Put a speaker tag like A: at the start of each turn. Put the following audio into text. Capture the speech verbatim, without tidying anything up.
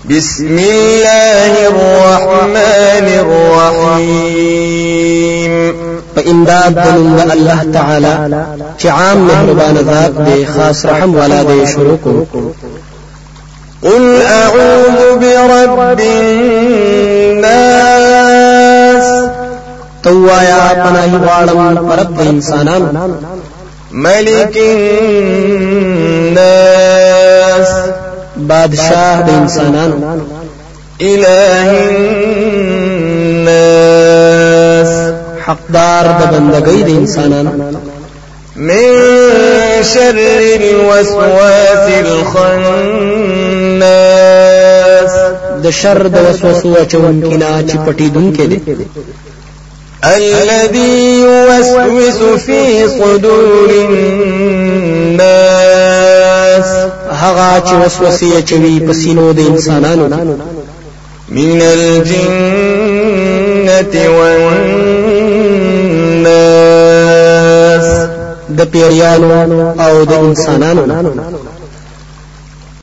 A: بسم الله الرحمن الرحيم.
B: فإمداد دنم الله تعالى چعام مهربان ذات دے خاص رحم والا دے شروع کو.
A: قل أعوذ برب الناس
B: توایا پناہی غواړم پرب انسانان.
A: ملك الناس
B: بادشاہ د انسانانو.
A: إله الناس
B: حقدار د بندګۍ د انسانانو.
A: من شر الوسواس الخناس
B: د شر د وسوسو اچونکي نه چې پټېدونکي دي.
A: الذي يوسوس في صدور الناس
B: هغه چې وسوسې اچوي په سینو د انسانانو.
A: من الجنة والناس
B: د پیریانو او د انسانانو.